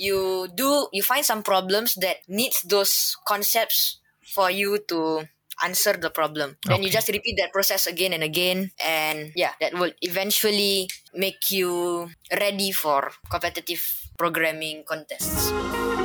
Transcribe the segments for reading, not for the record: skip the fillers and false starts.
you find some problems that needs those concepts for you to answer the problem. Then you just repeat that process again and again, and that will eventually make you ready for competitive programming contests.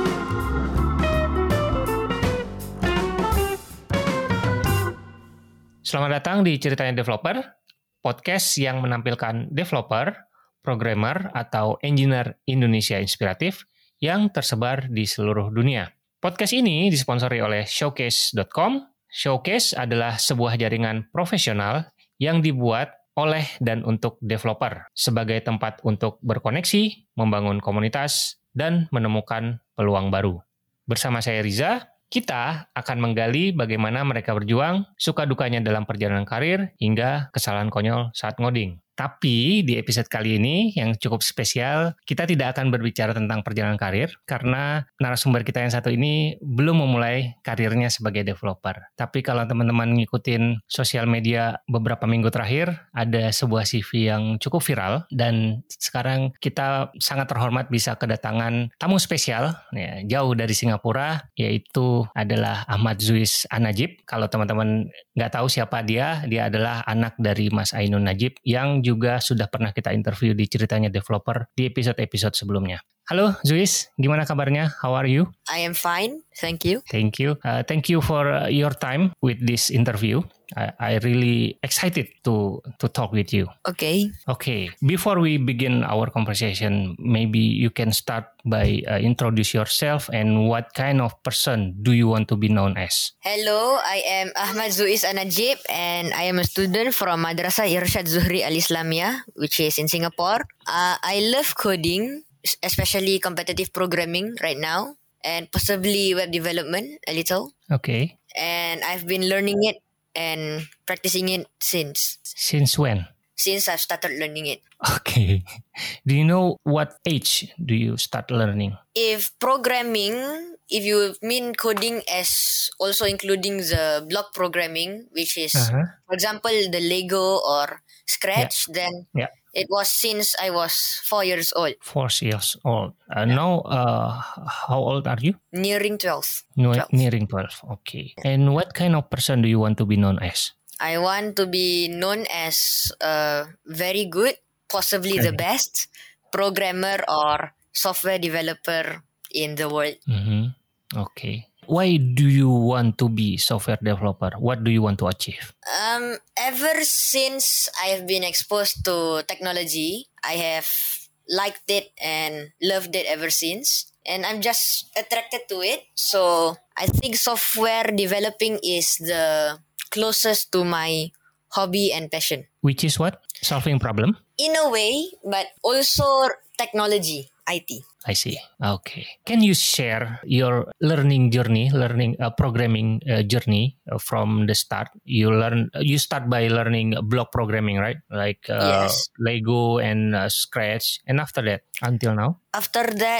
Selamat datang di Ceritanya Developer, podcast yang menampilkan developer, programmer, atau engineer Indonesia inspiratif yang tersebar di seluruh dunia. Podcast ini disponsori oleh Showcase.com. Showcase adalah sebuah jaringan profesional yang dibuat oleh dan untuk developer sebagai tempat untuk berkoneksi, membangun komunitas, dan menemukan peluang baru. Bersama saya Riza, kita akan menggali bagaimana mereka berjuang, suka dukanya dalam perjalanan karir, hingga kesalahan konyol saat ngoding. Tapi di episode kali ini yang cukup spesial, kita tidak akan berbicara tentang perjalanan karir karena narasumber kita yang satu ini belum memulai karirnya sebagai developer. Tapi kalau teman-teman ngikutin sosial media beberapa minggu terakhir, ada sebuah CV yang cukup viral dan sekarang kita sangat terhormat bisa kedatangan tamu spesial jauh dari Singapura, yaitu adalah Ahmad Zuis An-Najib. Kalau teman-teman nggak tahu siapa dia adalah anak dari Mas Ainun Najib yang juga sudah pernah kita interview di Ceritanya Developer di episode-episode sebelumnya. Halo Zuis, gimana kabarnya? How are you? I am fine, thank you. Thank you. Thank you for your time with this interview. I really excited to talk with you. Okay. Before we begin our conversation, maybe you can start by introduce yourself and what kind of person do you want to be known as? Hello, I am Ahmad Zuis An-Najib and I am a student from Madrasah Irsyad Zuhri Al-Islamiyah, which is in Singapore. I love coding, especially competitive programming right now, and possibly web development a little. Okay. And I've been learning it and practicing it since. Since when? Since I've started learning it. Okay. Do you know what age do you start learning? If you mean coding as also including the block programming, which is, for example, the Lego or Scratch, then it was since I was 4 years old. 4 years old. Now, how old are you? Nearing 12. Nearing 12. Okay. And what kind of person do you want to be known as? I want to be known as a very good, possibly the best programmer or software developer in the world. Mm-hmm. Okay. Why do you want to be software developer? What do you want to achieve? Ever since I have been exposed to technology, I have liked it and loved it ever since. And I'm just attracted to it. So I think software developing is the closest to my hobby and passion. Which is what? Solving problem? In a way, but also technology, IT. I see. Okay. Can you share your learning journey, programming journey from the start? You start by learning block programming, right? Like yes. Lego and Scratch. And after that, until now? After that,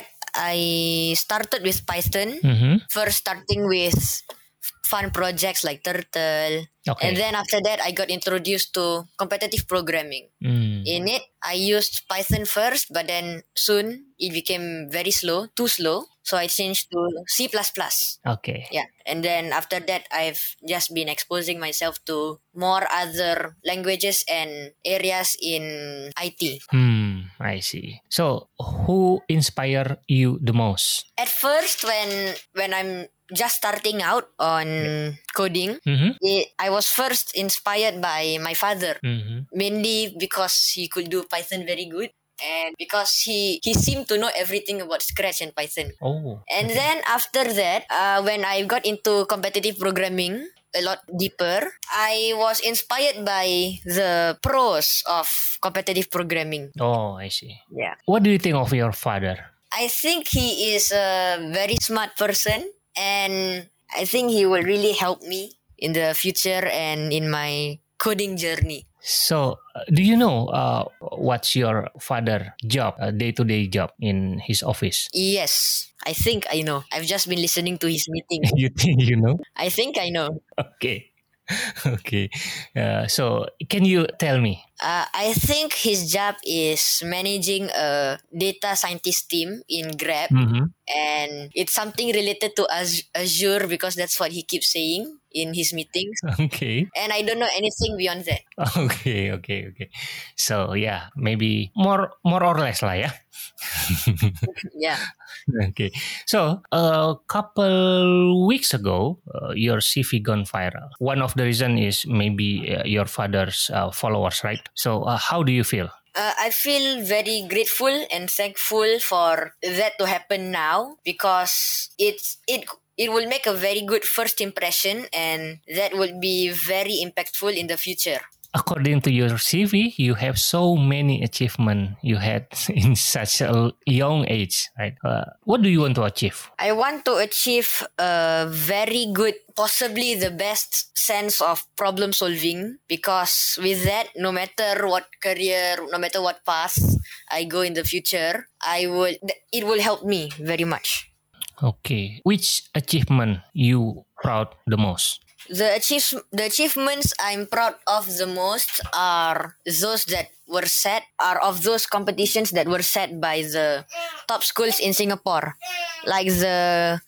I started with Python. First starting with fun projects like Turtle. Okay. And then after that, I got introduced to competitive programming. In it, I used Python first, but then soon it became too slow. So I changed to C++. Okay. Yeah. And then after that, I've just been exposing myself to more other languages and areas in IT. I see. So who inspired you the most? At first, when I'm just starting out on coding, I was first inspired by my father, mainly because he could do Python very good and because he seemed to know everything about Scratch and Python. And then after that, when I got into competitive programming a lot deeper, I was inspired by the pros of competitive programming. Oh, I see. Yeah. What do you think of your father? I think he is a very smart person. And I think he will really help me in the future and in my coding journey. So, do you know what's your father's job, day-to-day job in his office? Yes, I think I know. I've just been listening to his meeting. You think you know? I think I know. Okay. Okay. So, can you tell me I think his job is managing a data scientist team in Grab, and it's something related to Azure because that's what he keeps saying in his meetings. Okay. And I don't know anything beyond that. Okay. So yeah, maybe more or less lah ya. Yeah. Okay. So a couple weeks ago, your CV gone viral. One of the reason is maybe your father's followers, right? So how do you feel? I feel very grateful and thankful for that to happen now because it will make a very good first impression, and that would be very impactful in the future. According to your CV, you have so many achievements you had in such a young age, right? What do you want to achieve? I want to achieve a very good, possibly the best sense of problem solving, because with that, no matter what career, no matter what path I go in the future, it will help me very much. Okay. Which achievement you proud the most? The achievements I'm proud of the most are those that were of those competitions that were set by the top schools in Singapore, like the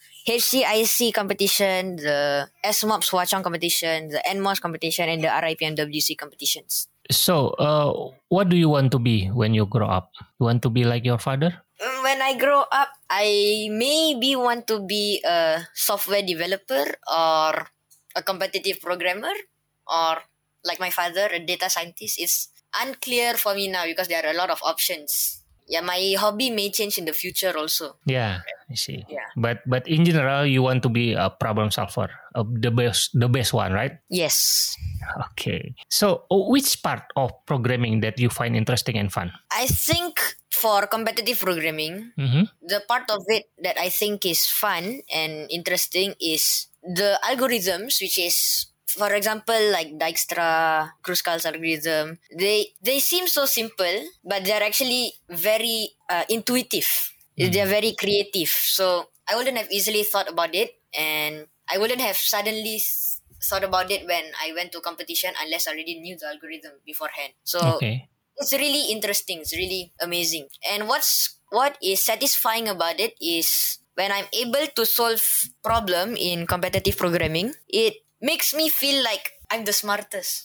HCIC competition, the SMOPS Hwa Chong competition, the NMOS competition, and the RIPMWC competitions. So, what do you want to be when you grow up? You want to be like your father? When I grow up, I maybe want to be a software developer or a competitive programmer, or like my father, a data scientist. It's unclear for me now because there are a lot of options. Yeah, my hobby may change in the future also. Yeah, I see. Yeah. But in general, you want to be a problem solver, the best one, right? Yes. Okay. So, which part of programming that you find interesting and fun? I think for competitive programming, the part of it that I think is fun and interesting is the algorithms, which is, for example, like Dijkstra, Kruskal's algorithm. They seem so simple, but they're actually very intuitive. They're very creative. So I wouldn't have easily thought about it, and I wouldn't have suddenly thought about it when I went to competition unless I already knew the algorithm beforehand. So it's really interesting. It's really amazing. And what is satisfying about it is when I'm able to solve problem in competitive programming, it makes me feel like I'm the smartest.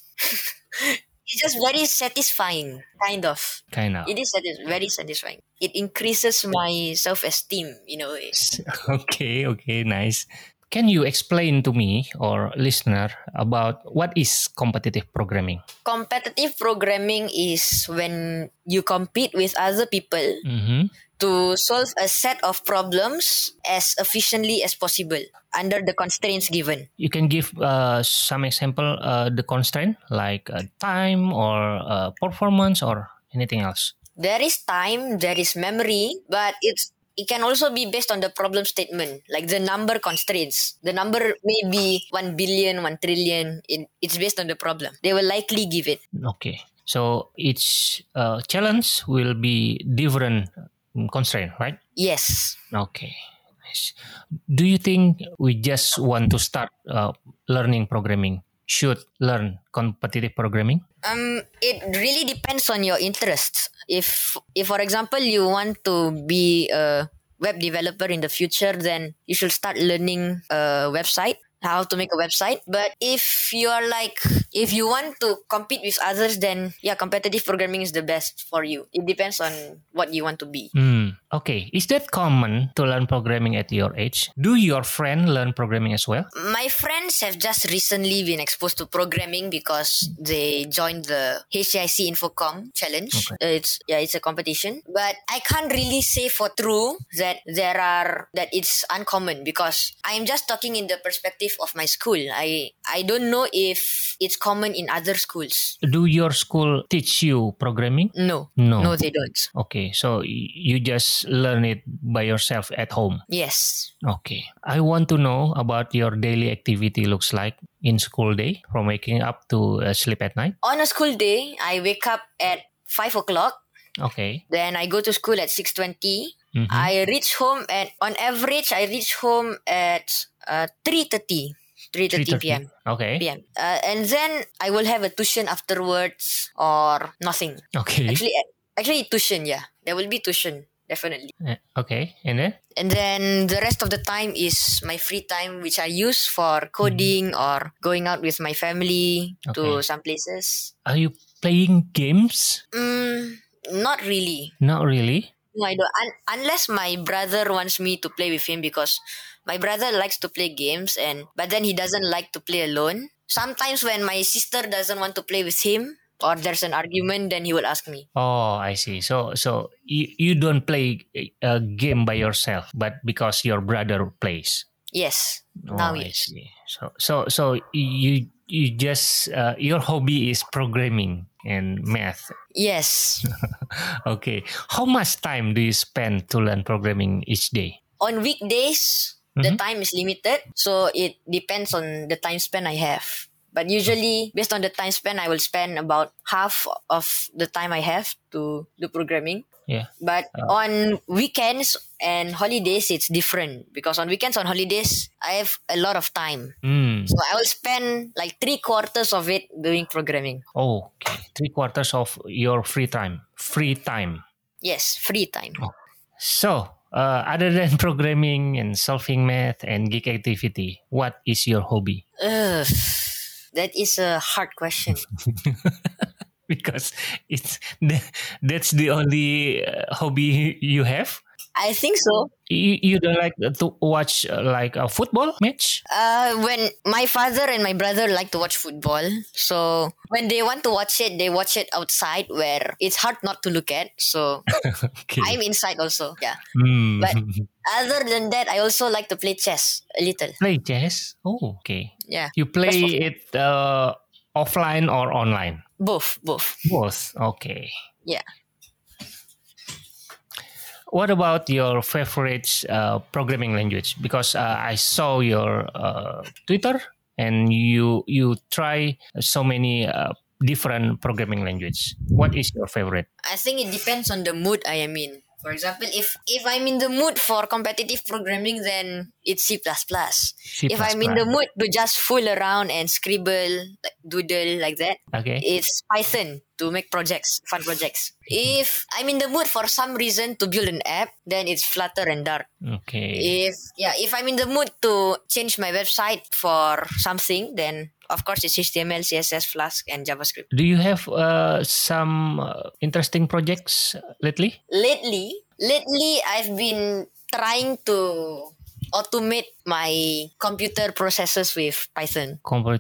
It's just very satisfying, kind of. It is very satisfying. It increases my self-esteem in a way. Okay, nice. Can you explain to me or listener about what is competitive programming? Competitive programming is when you compete with other people to solve a set of problems as efficiently as possible under the constraints given. You can give some example, the constraint like time or performance or anything else. There is time, there is memory, but it can also be based on the problem statement, like the number constraints. The number may be 1 billion, 1 trillion. It's based on the problem. They will likely give it. Okay. So each challenge will be different constraint, right? Yes. Okay. Nice. Do you think we just want to start learning programming should learn competitive programming? It really depends on your interests. If for example you want to be a web developer in the future, then you should start learning a website, how to make a website. But if you want to compete with others, then yeah, competitive programming is the best for you. It depends on what you want to be. Okay. Is that common to learn programming at your age? Do your friends learn programming as well? My friends have just recently been exposed to programming because they joined the HCIC Infocom challenge. Okay. It's a competition. But I can't really say for true that it's uncommon, because I'm just talking in the perspective of my school. I don't know if it's common in other schools. Do your school teach you programming? No, they don't. Okay, so you just learn it by yourself at home? Yes. Okay. I want to know about your daily activity looks like in school day, from waking up to sleep at night. On a school day, I wake up at 5 o'clock. Okay. Then I go to school at 6:20. I reach home on average, I reach home at 3:30. 3:30 p.m. Okay. p.m. And then I will have a tuition afterwards or nothing. Okay. Actually, tuition, yeah. There will be tuition, definitely. Okay, and then? And then the rest of the time is my free time, which I use for coding or going out with my family to some places. Are you playing games? Not really. Not really? No, I don't. Unless my brother wants me to play with him, because my brother likes to play games, but then he doesn't like to play alone. Sometimes when my sister doesn't want to play with him, or there's an argument, then he will ask me. Oh, I see. So you don't play a game by yourself, but because your brother plays. Yes. Now yes. I see. So you just your hobby is programming and math. Yes. Okay. How much time do you spend to learn programming each day? On weekdays, the time is limited, so it depends on the time span I have. But usually, based on the time span, I will spend about half of the time I have to do programming. Yeah. But on weekends and holidays, it's different. Because on weekends, on holidays, I have a lot of time. So I will spend like 3/4 of it doing programming. Oh, okay. 3/4 of your free time. Yes, free time. Oh. So, other than programming and solving math and geek activity, what is your hobby? That is a hard question. Because that's the only hobby you have? I think so. You don't like to watch like a football match? When my father and my brother like to watch football, so when they want to watch it, they watch it outside where it's hard not to look at. So I'm inside also, yeah. But other than that, I also like to play chess a little. Play chess? Oh, okay. Yeah. You play it offline or online? Both. Both. Okay. Yeah. What about your favorite programming language? Because I saw your Twitter and you try so many different programming language. What is your favorite? I think it depends on the mood I am in. For example, if I'm in the mood for competitive programming, then it's C++. If I'm in the mood to just fool around and scribble, like doodle like that, it's Python to make fun projects. If I'm in the mood for some reason to build an app, then it's Flutter and Dart. Okay. If I'm in the mood to change my website for something, then of course it's HTML, CSS, Flask, and JavaScript. Do you have some interesting projects lately? Lately, I've been trying to automate my computer processors with Python.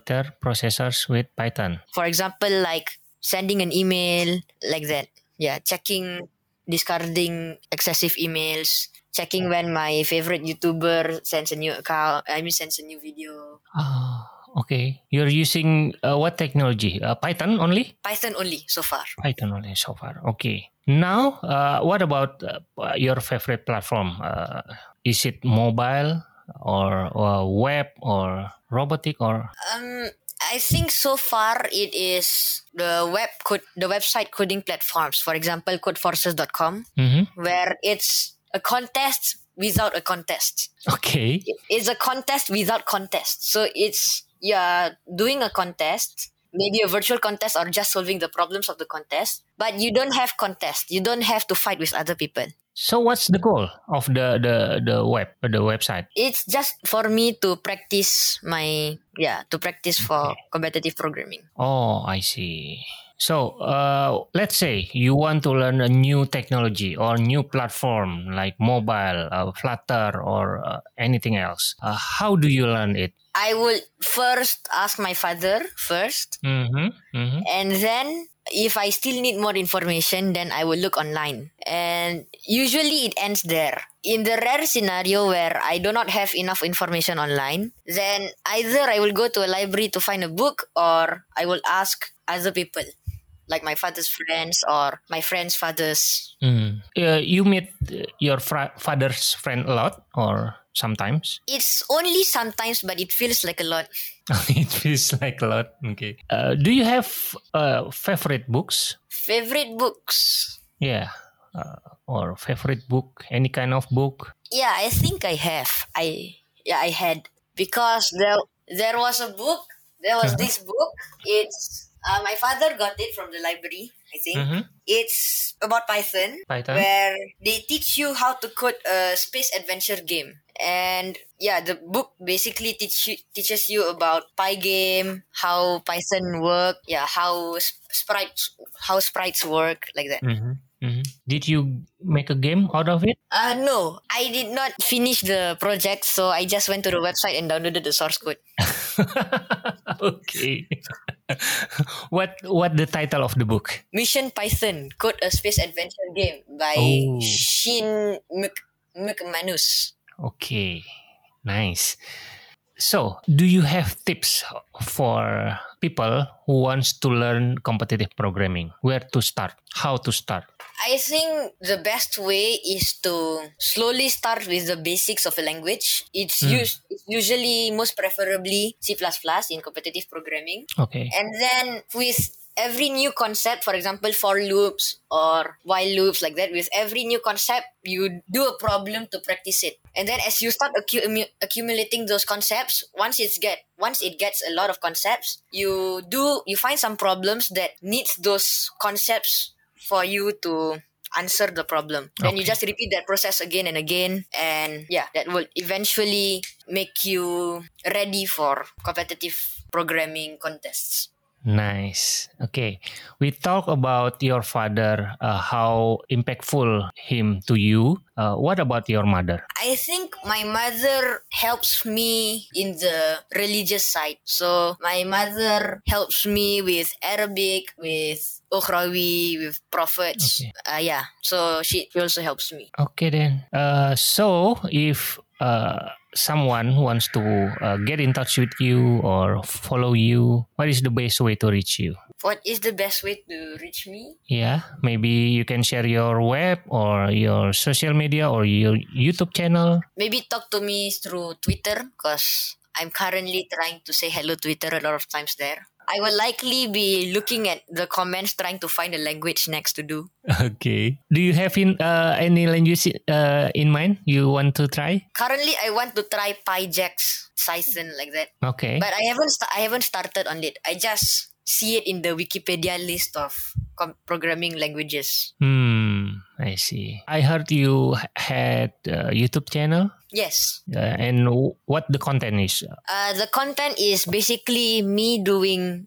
For example, like sending an email like that. Yeah, checking, discarding excessive emails, checking when my favorite YouTuber sends a new video. Okay. You're using what technology? Python only? Python only so far. Okay. Now, what about your favorite platform? Is it mobile or web or robotic or? I think so far it is the website coding platforms. For example, codeforces.com, where it's a contest without a contest. Okay. It's a contest without contest. So you're doing a contest, maybe a virtual contest or just solving the problems of the contest, but you don't have contest. You don't have to fight with other people. So what's the goal of the website? It's just for me to practice for competitive programming. Oh, I see. So let's say you want to learn a new technology or new platform like mobile, Flutter or anything else. How do you learn it? I will first ask my father first. And then if I still need more information, then I will look online. And usually it ends there. In the rare scenario where I do not have enough information online, then either I will go to a library to find a book or I will ask other people, like my father's friends or my friends' fathers. You meet your father's friend a lot or sometimes? It's only sometimes, but it feels like a lot. It feels like a lot. Okay. Do you have favorite books? Favorite books? Yeah. Or favorite book? Any kind of book? Yeah, I think I have. I had. Because There was a book. There was this book. It's my father got it from the library, I think. It's about Python, where they teach you how to code a space adventure game. And yeah, the book basically teaches you about Pygame, how Python work, how sprites work, like that. Did you make a game out of it? No, I did not finish the project, so I just went to the website and downloaded the source code. Okay. What the title of the book? Mission Python: Code a Space Adventure Game by Shin McManus. Okay, nice. So, do you have tips for people who wants to learn competitive programming? Where to start? How to start? I think the best way is to slowly start with the basics of a language. It's usually most preferably C++ in competitive programming. Okay. And then with every new concept, for example, for loops or while loops, like that, with every new concept, you do a problem to practice it. And then as you start accumulating those concepts, once it gets a lot of concepts, you find some problems that needs those concepts for you to answer the problem. Then you just repeat that process again and again, and that will eventually make you ready for competitive programming contests. Nice. Okay. We talk about your father, how impactful him to you. What about your mother? I think my mother helps me in the religious side. So my mother helps me with Arabic, with Ukhrawi, with prophets. Okay. So she also helps me. Okay then. So if someone wants to get in touch with you or follow you, what is the best way to reach you? What is the best way to reach me? Yeah, maybe you can share your web or your social media or your YouTube channel. Maybe talk to me through Twitter, because I'm currently trying to say hello Twitter a lot of times there. I will likely be looking at the comments trying to find a language next to do. Okay. Do you have any language in mind you want to try? Currently, I want to try PyJax, Python, like that. Okay. But I haven't started on it. I just see it in the Wikipedia list of programming languages. I see. I heard you had a YouTube channel. Yes. And what the content is? The content is basically me doing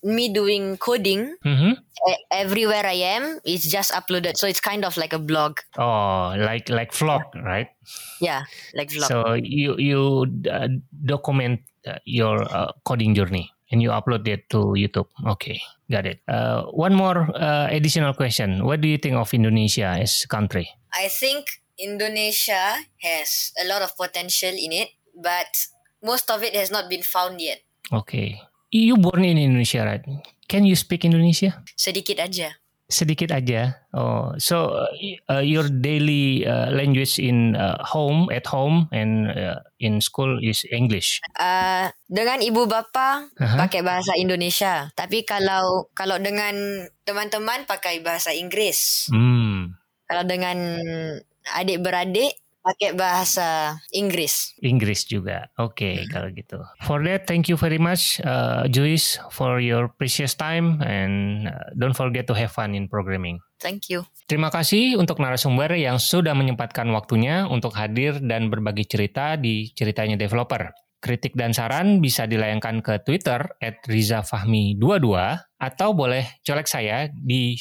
coding. Everywhere I am, it's just uploaded. So it's kind of like a blog. Oh, like vlog, right? Yeah, like vlog. So you document your coding journey and you upload it to YouTube. Okay, got it. One more additional question. What do you think of Indonesia as a country? I think Indonesia has a lot of potential in it, but most of it has not been found yet. Okay. You born in Indonesia, right? Can you speak Indonesia? Sedikit aja. Sedikit aja. Oh, so your daily language in at home, and in school is English. Dengan ibu bapa pakai bahasa Indonesia, tapi kalau dengan teman-teman pakai bahasa Inggris. Kalau dengan adik-beradik pakai bahasa Inggris. Inggris juga. Okay, kalau gitu. For that, thank you very much, Joyce, for your precious time, and don't forget to have fun in programming. Thank you. Terima kasih untuk narasumber yang sudah menyempatkan waktunya untuk hadir dan berbagi cerita di Ceritanya Developer. Kritik dan saran bisa dilayangkan ke Twitter @rizafahmi22 atau boleh colek saya di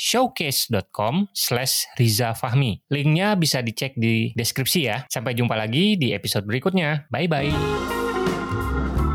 showcase.com/rizafahmi. Linknya bisa dicek di deskripsi ya. Sampai jumpa lagi di episode berikutnya. Bye-bye.